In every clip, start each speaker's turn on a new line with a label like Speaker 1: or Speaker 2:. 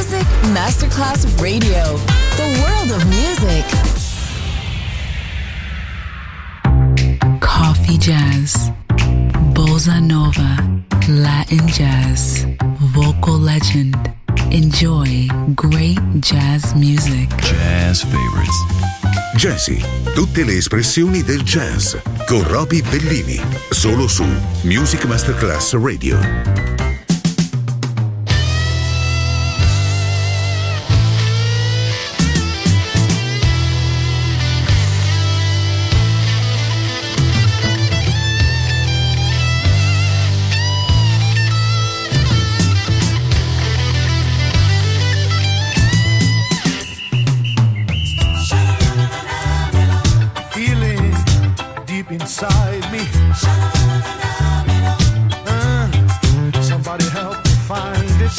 Speaker 1: Music Masterclass Radio. The world of music.
Speaker 2: Coffee jazz, bossa nova, Latin jazz, vocal legend. Enjoy great jazz music.
Speaker 3: Jazz favorites.
Speaker 4: Jazzy, tutte le espressioni del jazz con Roby Bellini, solo su Music Masterclass Radio.
Speaker 5: Inside me, somebody help me find it.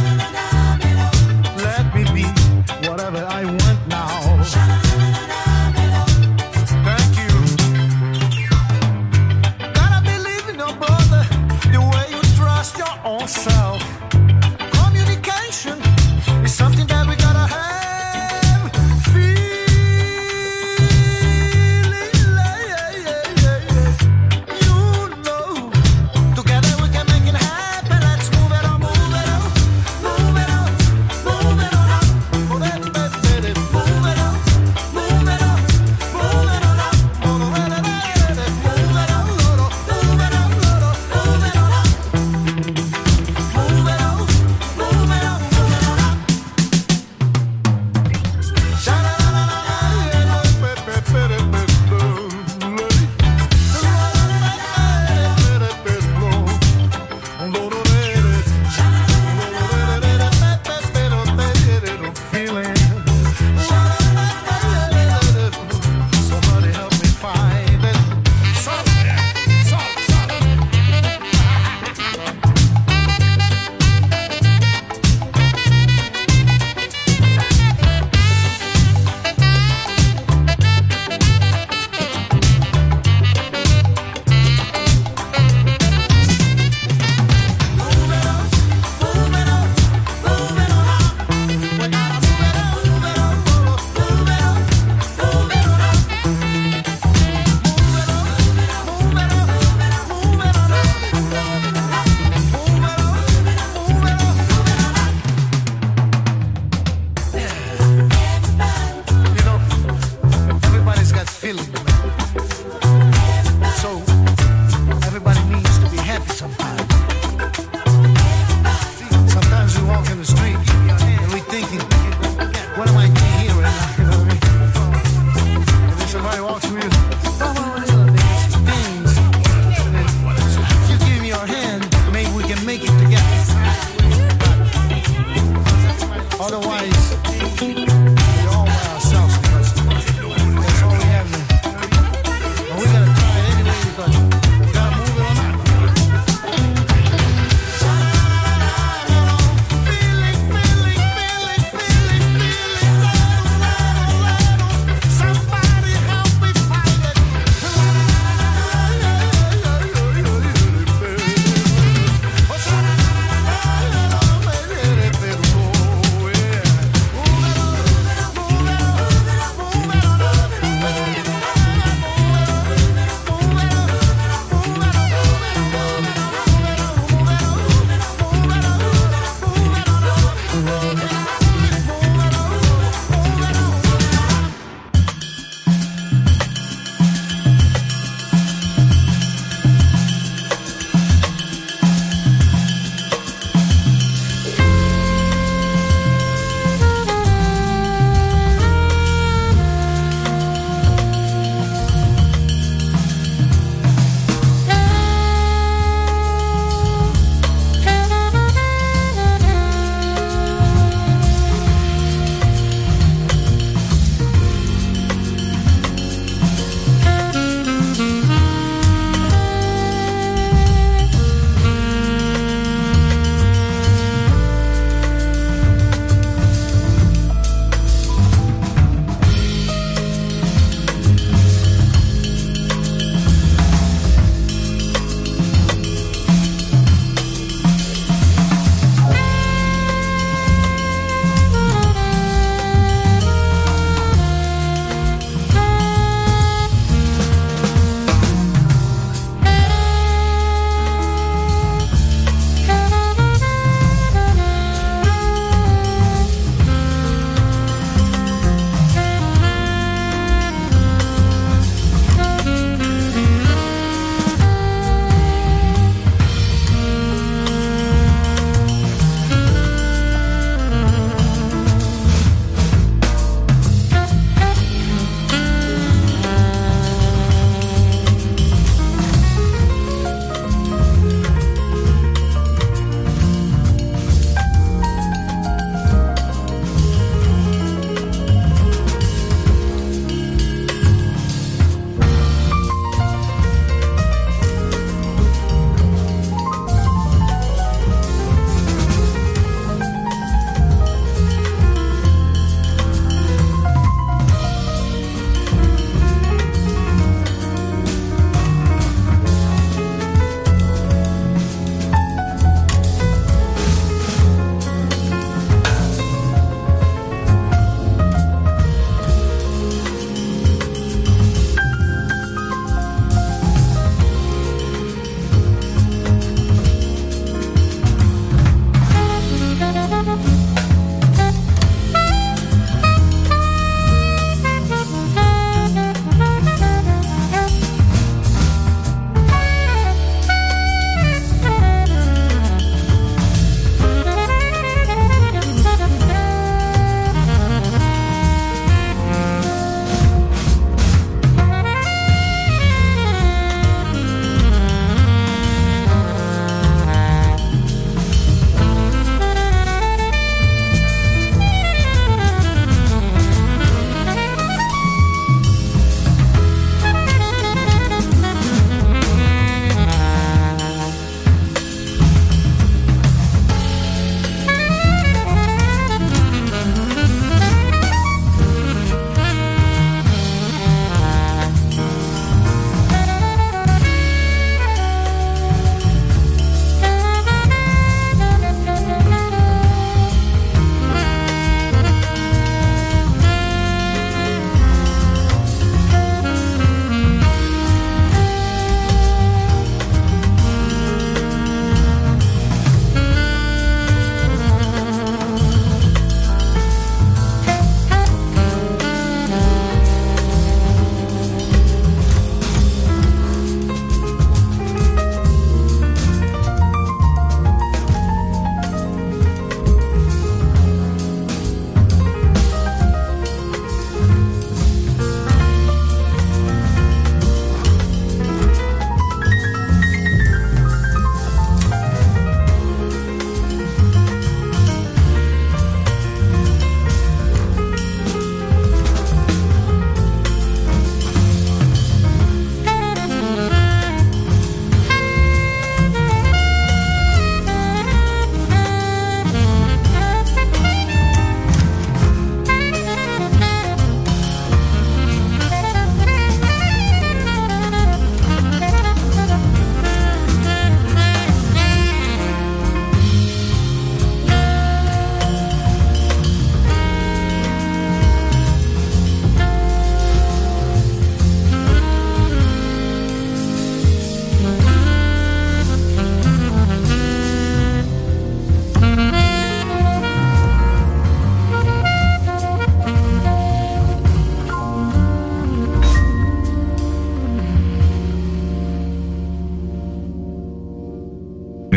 Speaker 5: Let me be whatever I want now. Thank you. Gotta believe in your brother, the way you trust your own self. Communication is something that we gotta have.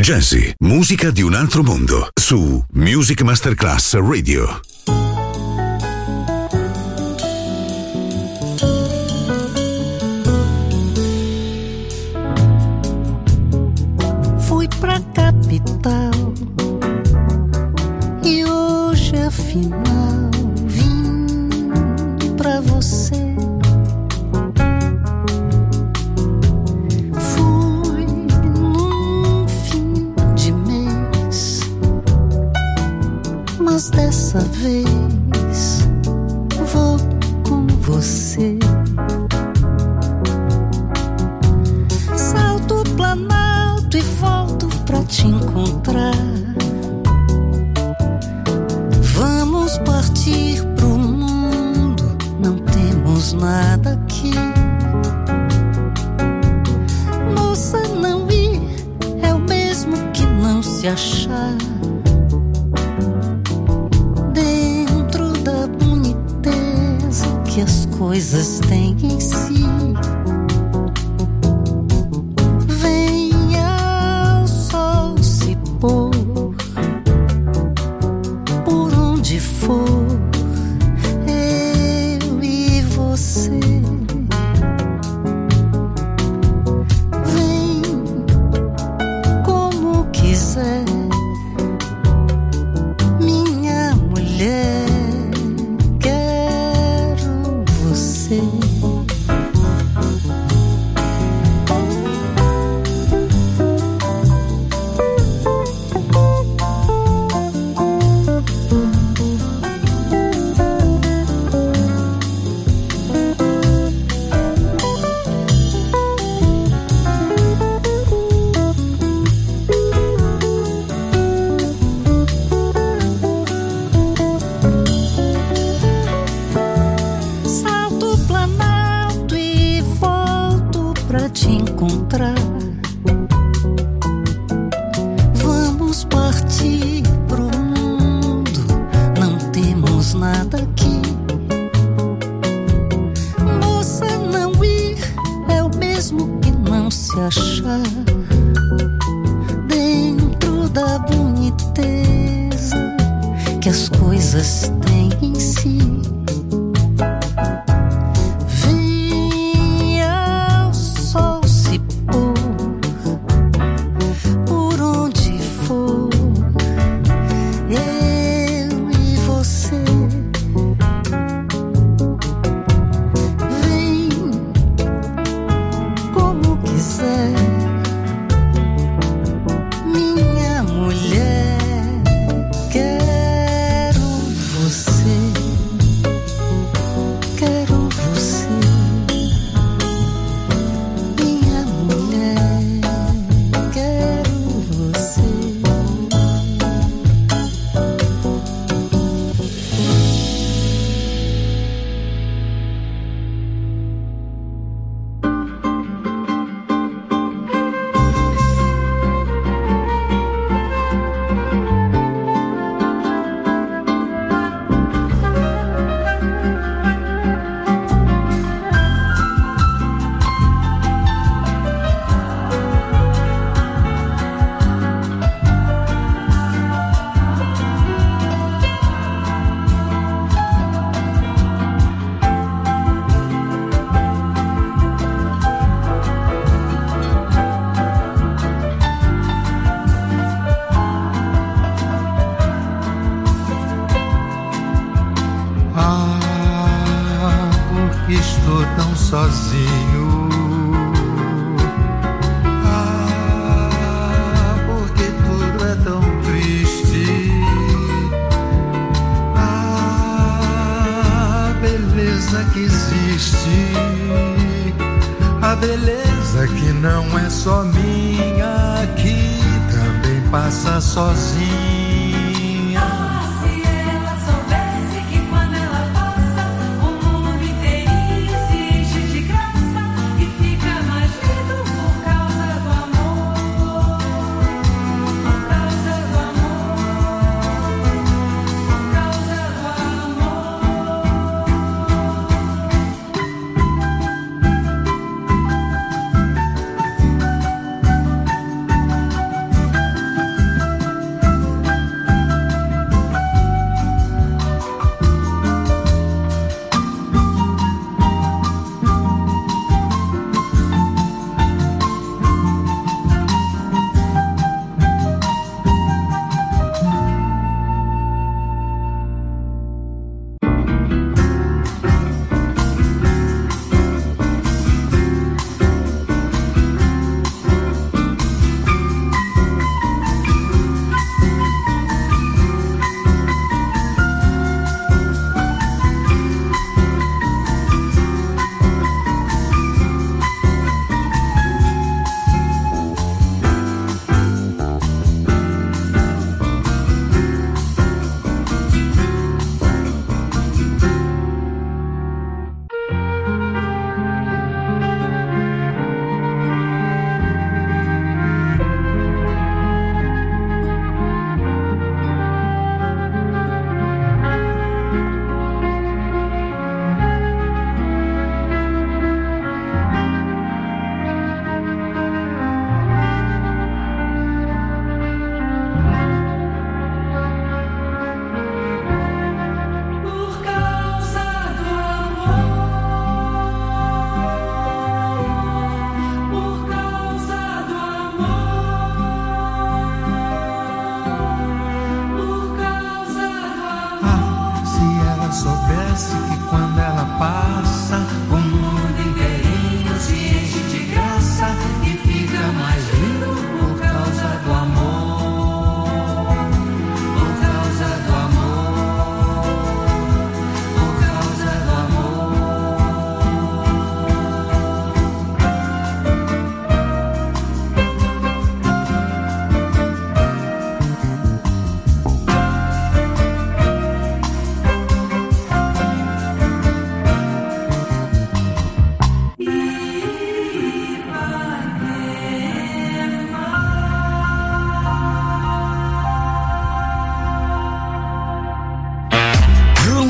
Speaker 4: Jazzy, musica di un altro mondo, su Music Masterclass Radio.
Speaker 3: Fui pra capital e hoje afinal vim pra você. Fui num fim de mês, mas dessa vez vou com você. Salto o Planalto e volto pra te encontrar. Vamos partir pro mundo, não temos nada aqui. Moça, não ir é o mesmo que não se achar. Dentro da boniteza que as coisas têm em si. Venha o sol se pôr por onde for, eu e você. Vem como quiser, minha mulher. Quero você. Salto o Planalto e volto pra te encontrar. Vamos partir pro mundo, não temos nada aqui. Moça, não ir é o mesmo que não se achar. Dentro da boniteza que as coisas têm em si. Venha o sol se pôr por onde for, eu e você. Vem como quiser, minha mulher. Quero você. Quero você, minha mulher. Quero você.
Speaker 5: Ah, porque estou tão sozinho. Ah, porque tudo é tão triste. Ah, a beleza que existe, a beleza que não é só minha, que também passa sozinha.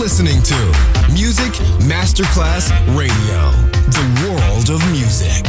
Speaker 6: listening to Music Masterclass Radio, the world of music.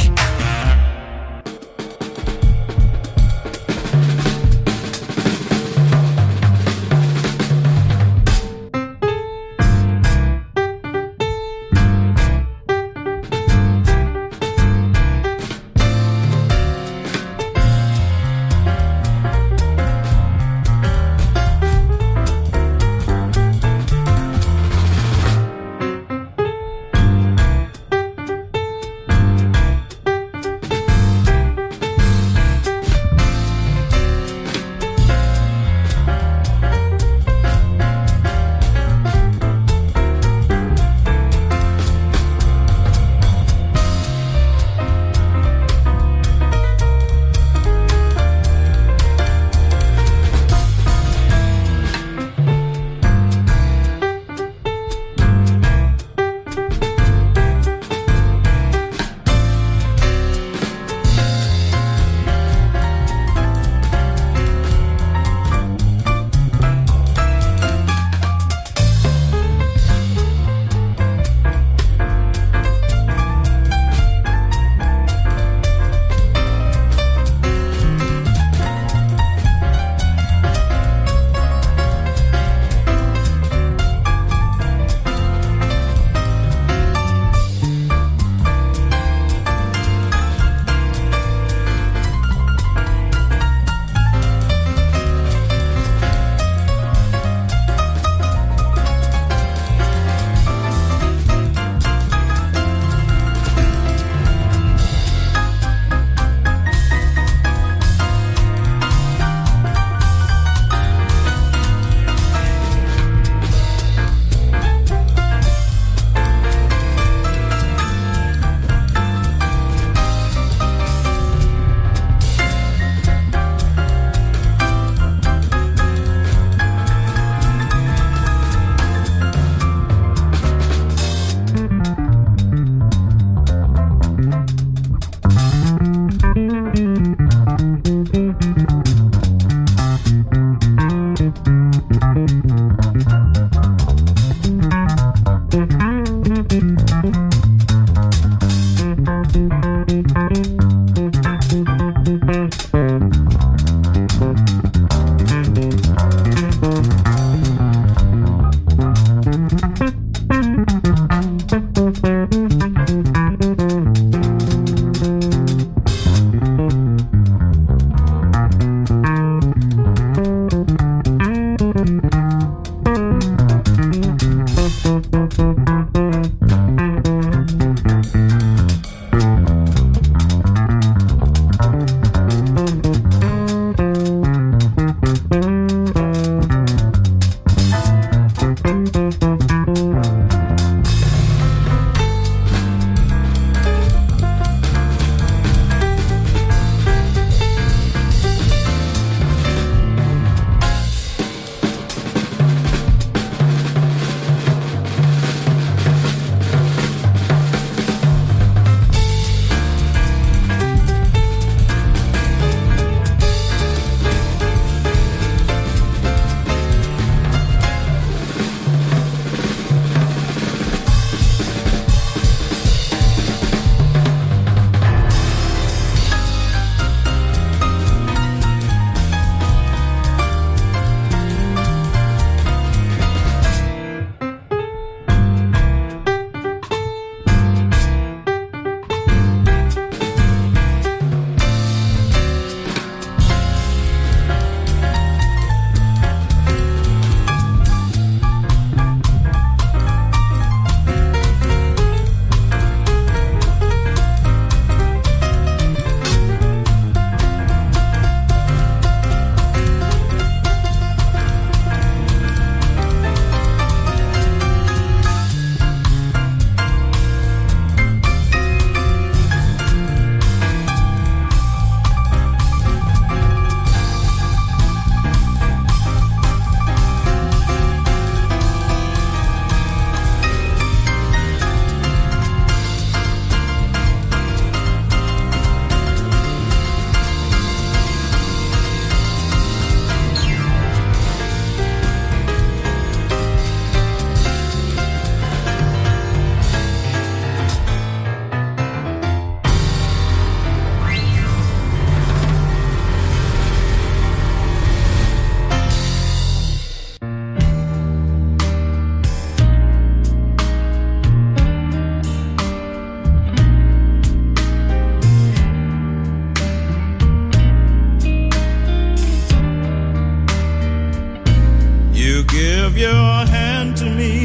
Speaker 7: give your hand to me,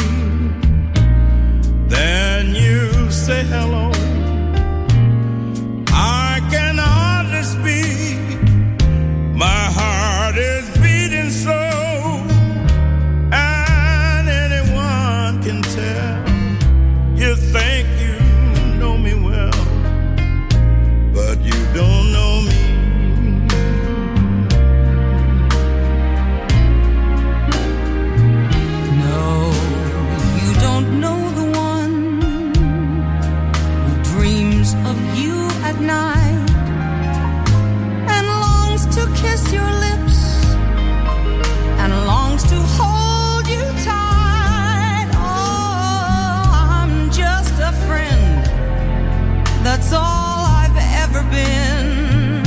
Speaker 7: then you say hello. I can hardly speak, my heart is beating slow, and anyone can tell you think you know me well, but you don't know me.
Speaker 3: No, you don't know the one who dreams of you at night and longs to kiss your lips and longs to hold you tight. Oh, I'm just a friend, that's all I've ever been,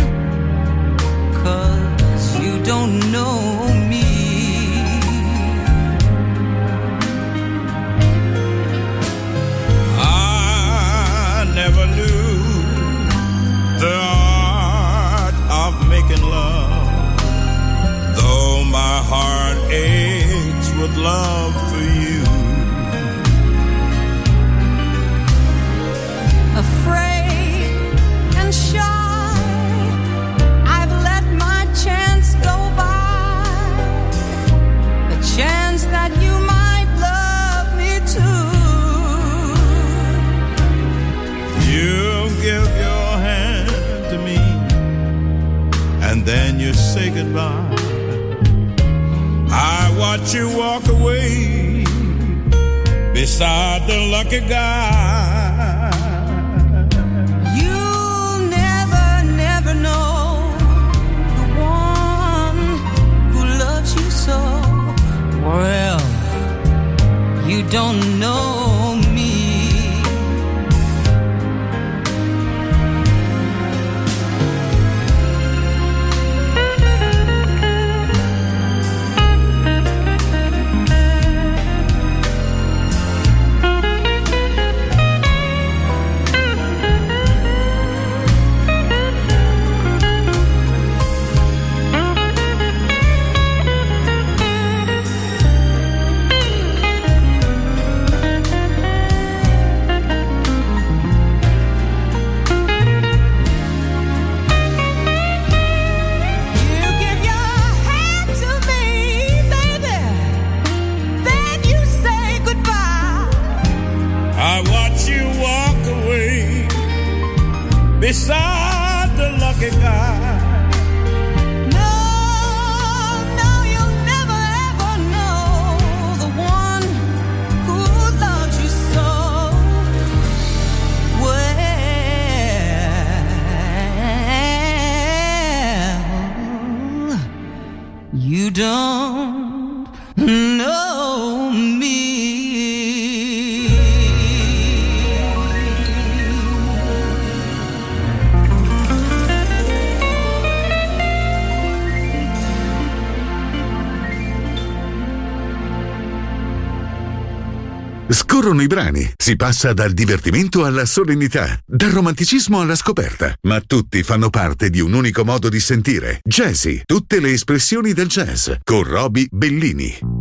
Speaker 3: 'cause you don't know me.
Speaker 7: I never knew the art of making love, though my heart aches with love for you.
Speaker 3: Afraid and shy, I've let my chance go by, the chance that you might love me too.
Speaker 7: You give your hand to me, and then you say goodbye. I watch you walk away beside the lucky guy.
Speaker 3: You'll never, never know the one who loves you so well. You don't know me.
Speaker 7: Beside the lucky guy.
Speaker 3: No, you'll never ever know the one who loves you so well. You don't know me.
Speaker 4: Scorrono i brani, si passa dal divertimento alla solennità, dal romanticismo alla scoperta, ma tutti fanno parte di un unico modo di sentire. Jazzy, tutte le espressioni del jazz, con Roby Bellini.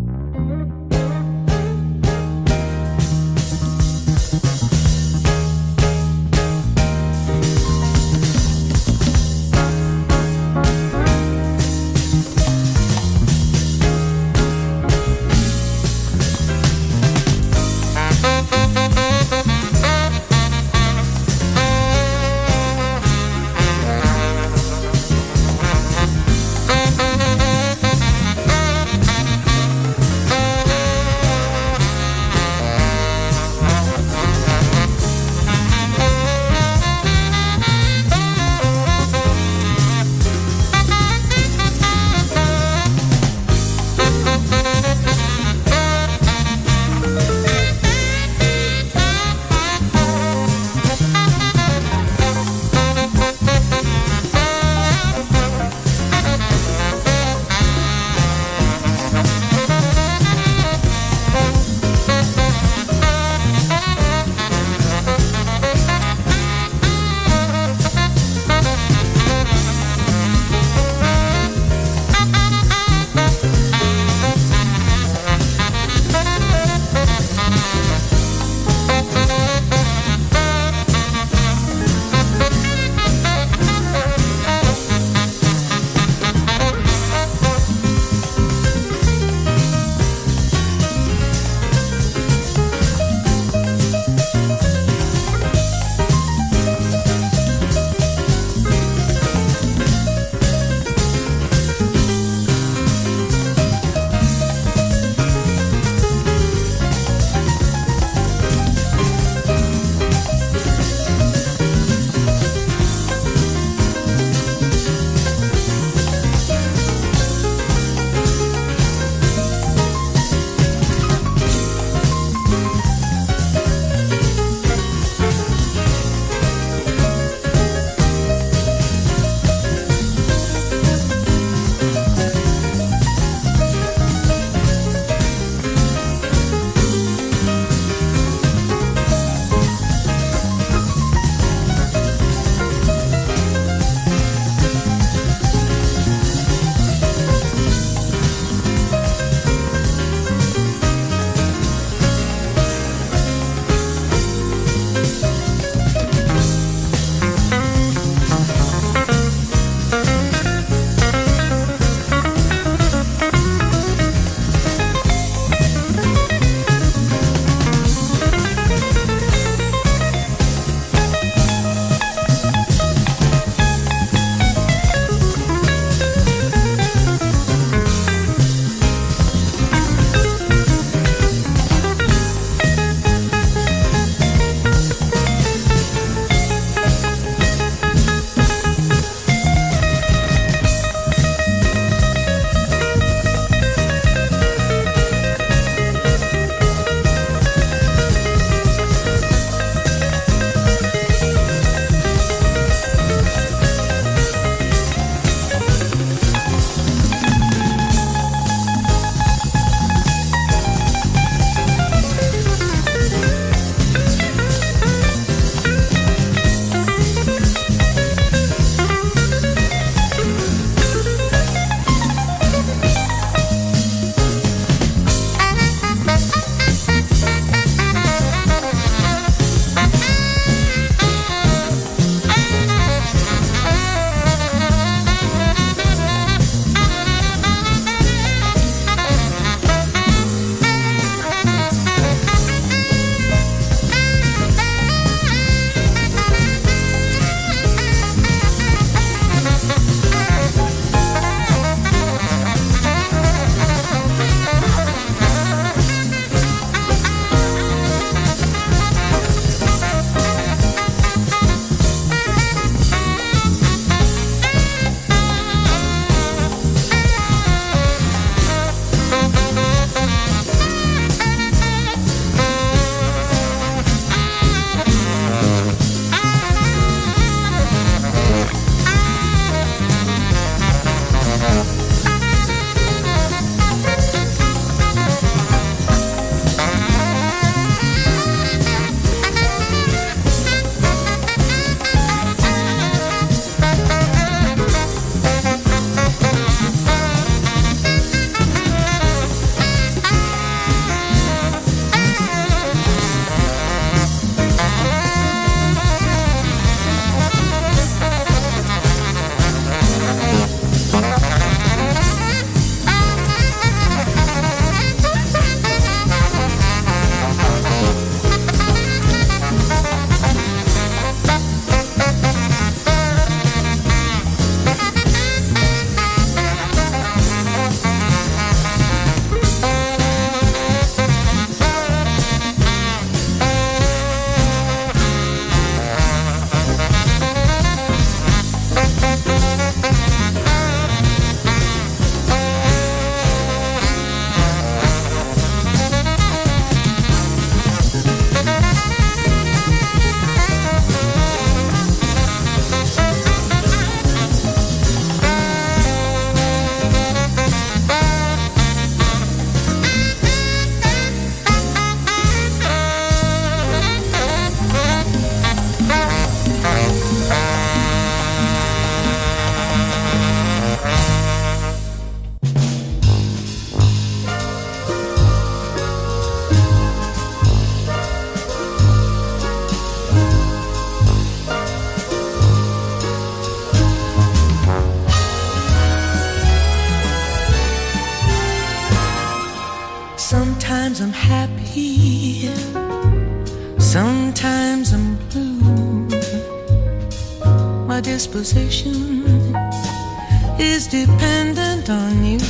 Speaker 8: Sometimes I'm happy, sometimes I'm blue. My disposition is dependent on you.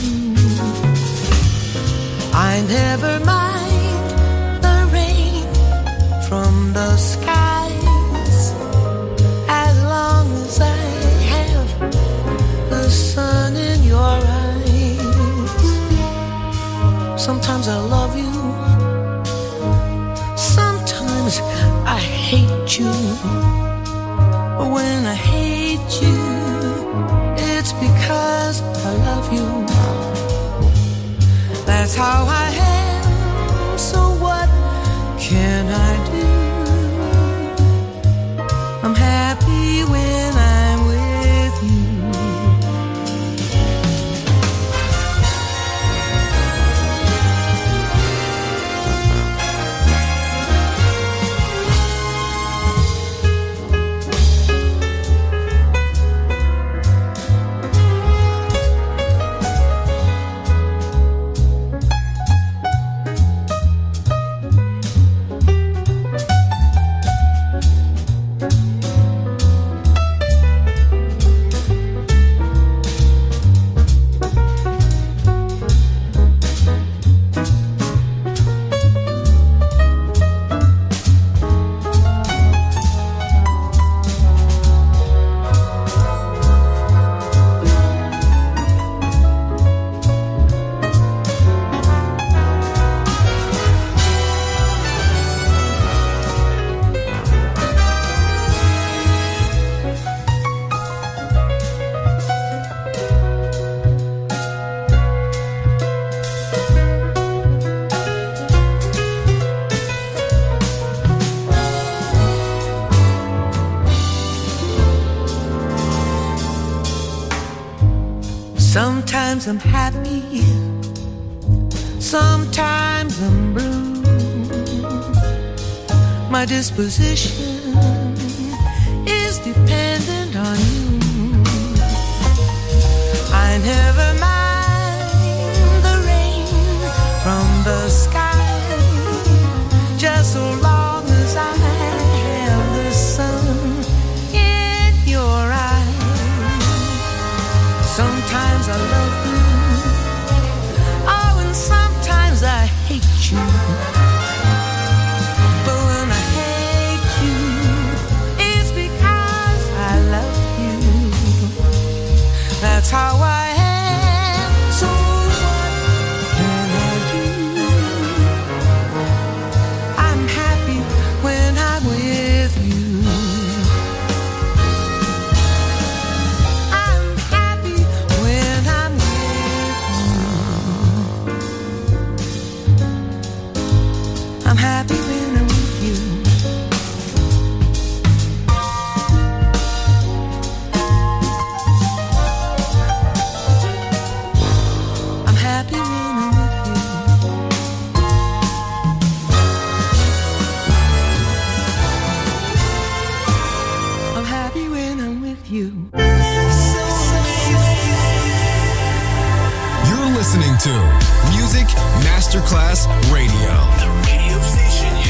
Speaker 8: I never mind the rain from the skies as long as I have the sun in your eyes. Sometimes I love you, sometimes I hate you. But when I hate you, it's because I love you. That's how I am, so what can I do? I'm happy when I'm with you. Sometimes I'm happy, sometimes I'm blue. My disposition is dependent on you. I never mind the rain from the sky, just so long as I have the sun in your eyes. Sometimes I love you, oh, and sometimes I hate you. But when I hate you, it's because I love you. That's how I am, so what can I do? I'm happy when I'm with you. I'm happy when I'm with you. I'm happy when I'm with you. I'm happy when I'm with you.
Speaker 6: You're listening to Music Masterclass Radio. The radio station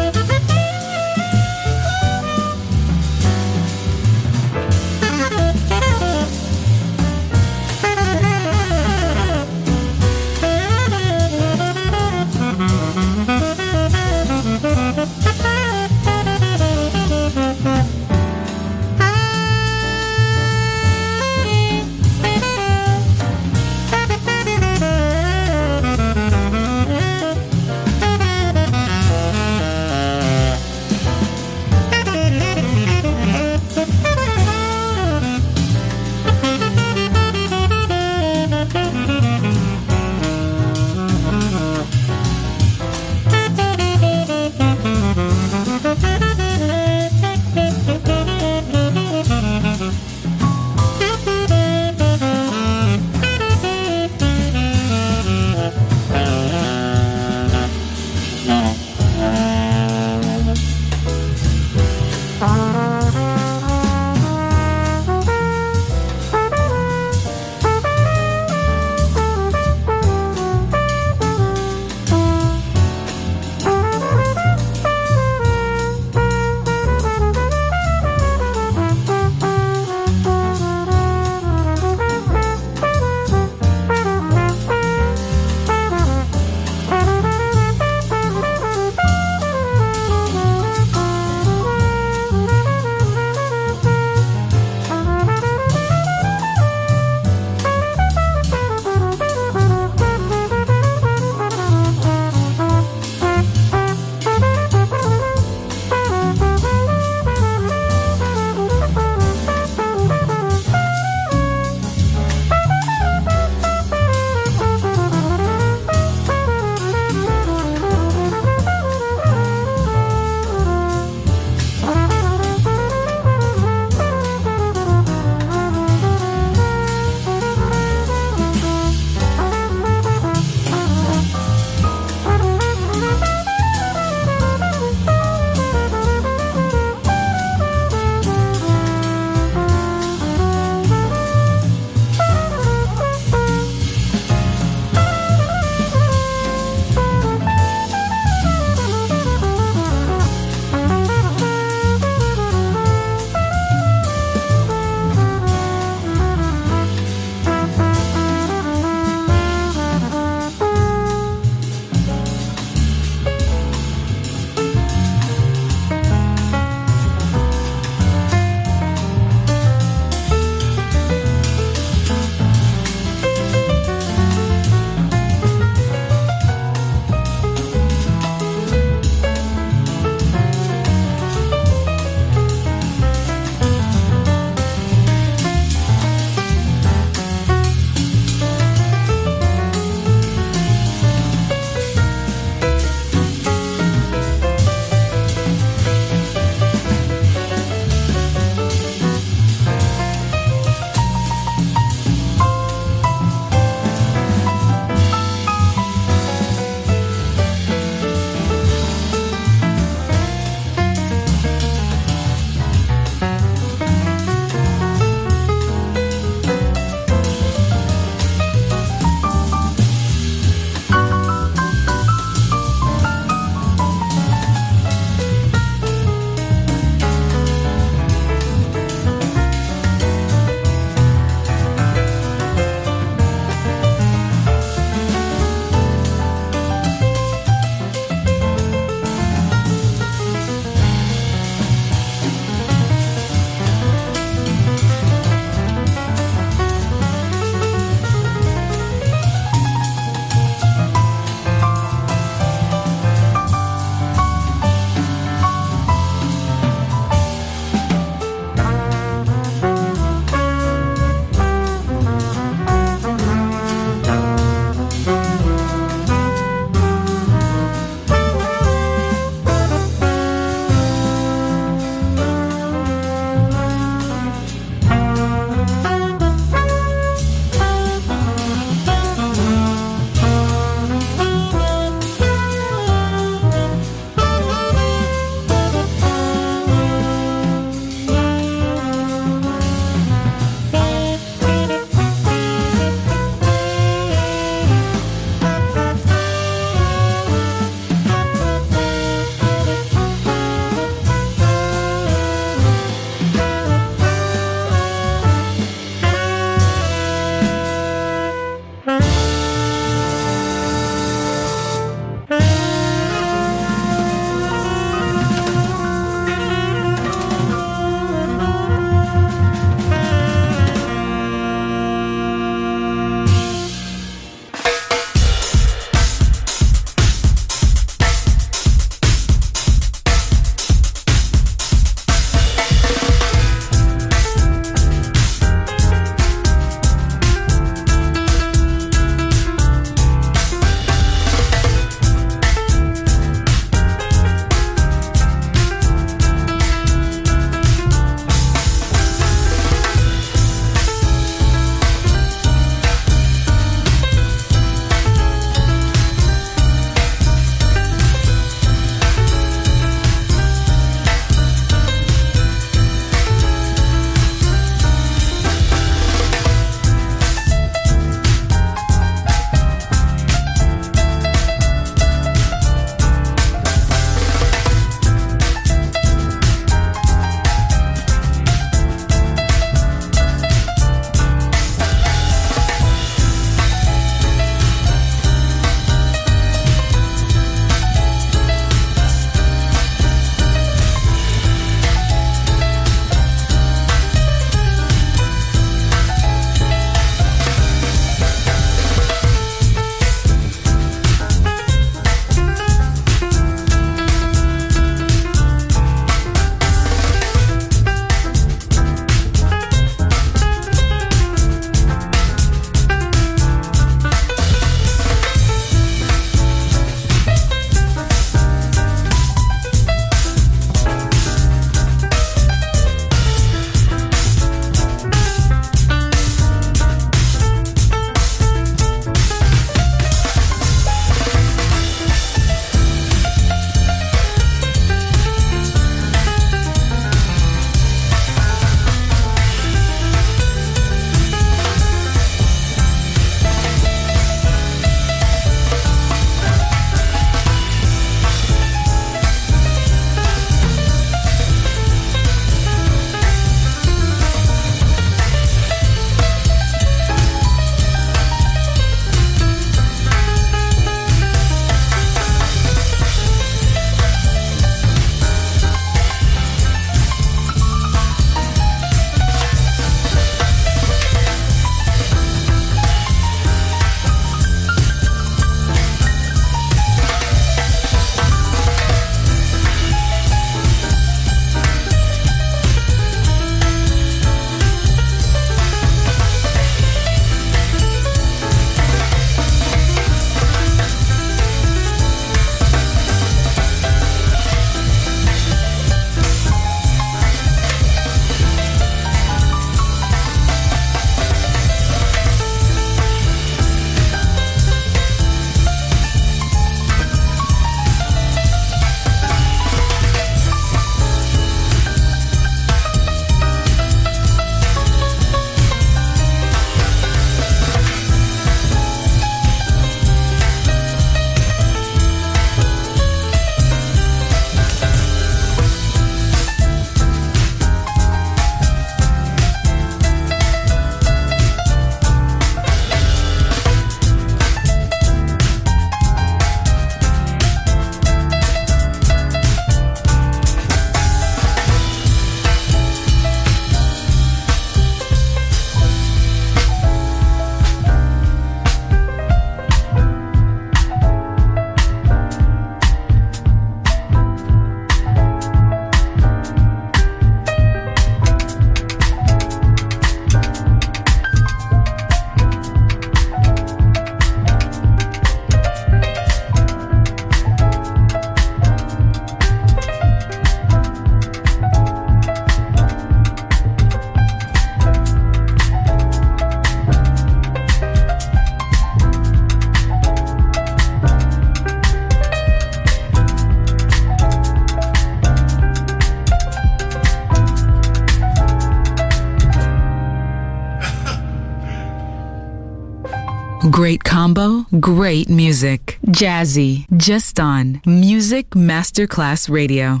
Speaker 2: Great combo, great music. Jazzy, just on Music Masterclass Radio.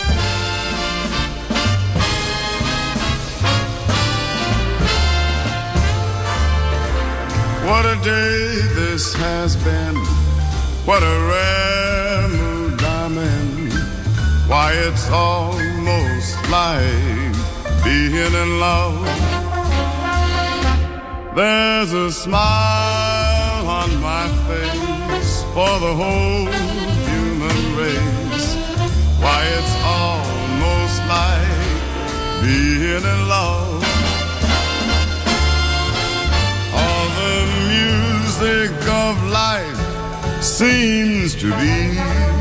Speaker 9: What a day this has been. What a rare mood I'm in. Why, it's almost like being in love. There's a smile on my face for the whole human race. Why, it's almost like being in love. All the music of life seems to be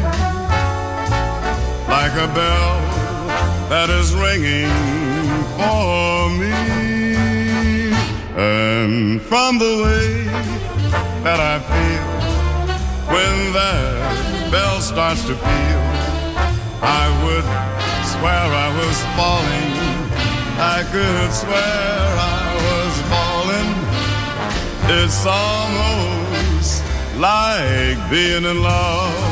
Speaker 9: like a bell that is ringing for me. And from the way that I feel when that bell starts to peal, I would swear I was falling. I could swear I was falling. It's almost like being in love.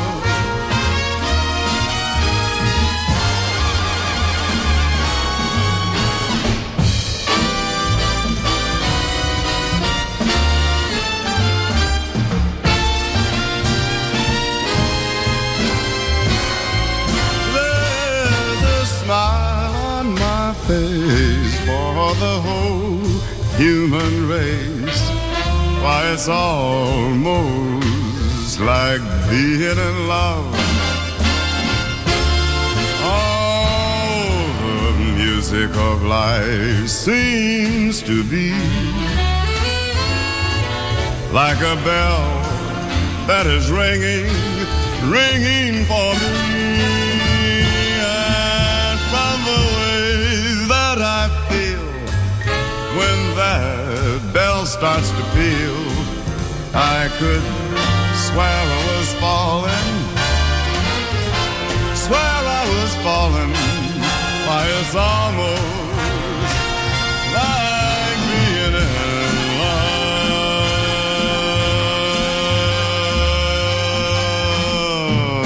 Speaker 9: Smile on my face for the whole human race. Why, it's almost like being in love. All the music of life seems to be like a bell that is ringing, ringing for me. I feel when that bell starts to peal, I could swear I was falling, swear I was falling. Why, it's almost like being in love.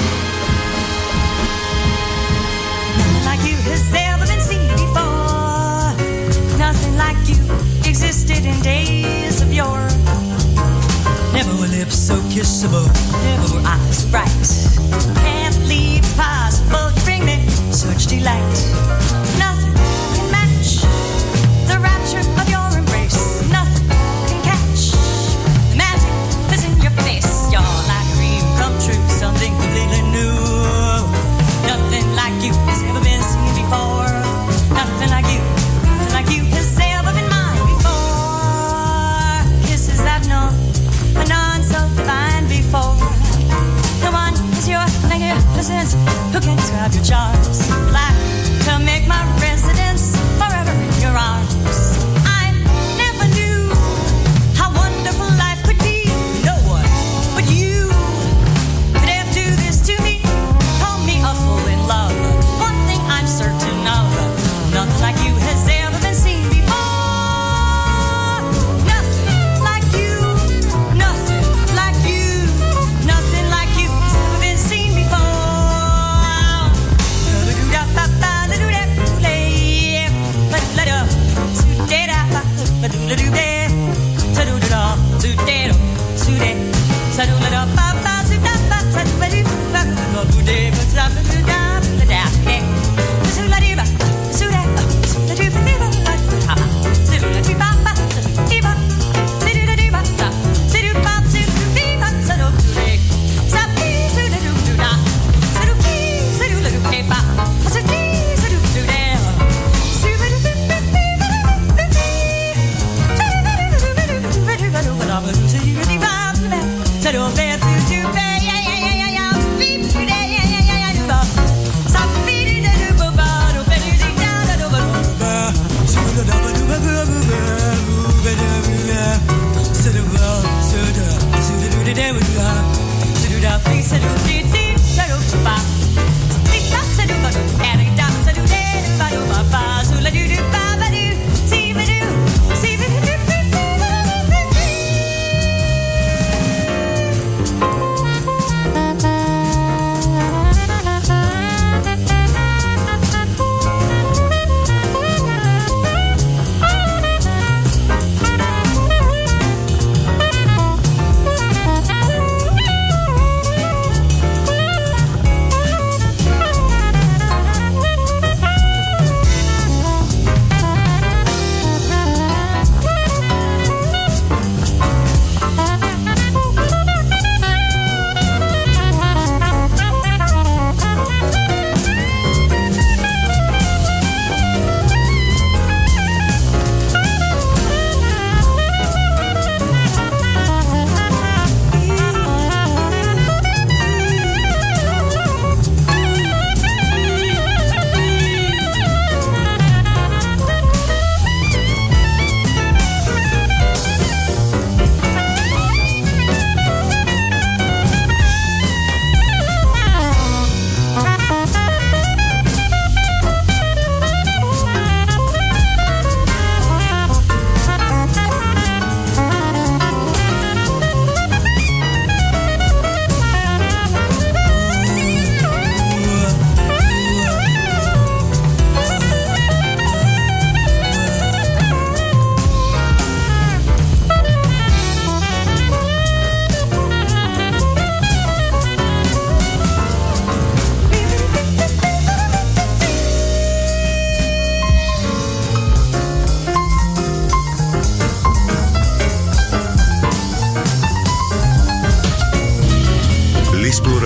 Speaker 10: Nothing like you has ever been seen before. Nothing like you existed in days of yore. Never were lips so kissable, never were eyes so bright. Can't believe it's possible to bring me such delight. Nothing can match the rapture of your embrace. Nothing can catch the magic that's in your face. You're like a dream come true, something completely new. Nothing like you has ever been seen before. Nothing like you. Like you has ever been mine before. Kisses I've known, but none so divine before. No one is your magnificence. Who can describe your charms? Like to make my residence forever in your arms. I never knew how wonderful life could be. No one but you could ever do this to me. Call me a fool in love. One thing I'm certain of, nothing like you has ever been seen before. Nothing like you, nothing like you, nothing like you has ever been seen before.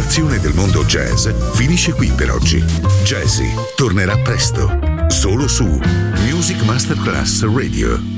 Speaker 4: celebrazione del mondo jazz finisce qui per oggi. Jazzy tornerà presto, solo su Music Masterclass Radio.